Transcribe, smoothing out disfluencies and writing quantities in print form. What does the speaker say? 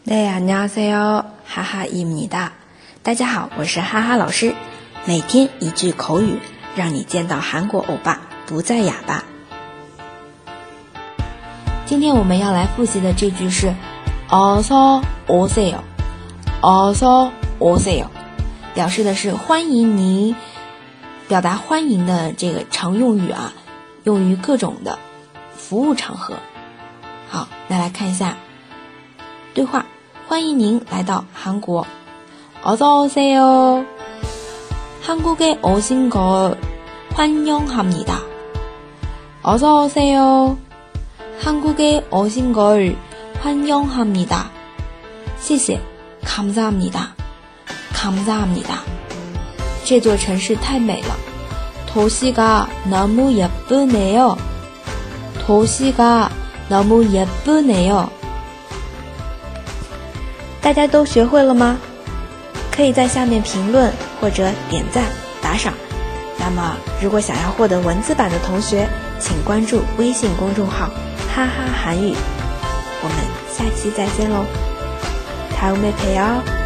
네, 안녕하세요. 하하입니다. 大家好，我是哈哈老师。每天一句口语，让你见到韩国欧巴不再哑巴。今天我们要来复习的这句是어서 오세요， 어서 오세요， 表示的是欢迎您，表达欢迎的这个常用语啊，用于各种的服务场合。好，那来看一下对话。欢迎您来到韩国。어서 오세요. 한국에 오신 걸 환영합니다. 어서 오세요. 한국에 오신 걸 환영합니다. 谢谢 감사합니다. 감사합니다. 这座城市太美了。도시가 너무 예쁘네요. 도시가 너무 예쁘네요. 大家都学会了吗？可以在下面评论或者点赞打赏。那么如果想要获得文字版的同学，请关注微信公众号哈哈韩语。我们下期再见喽，다음에 봬요。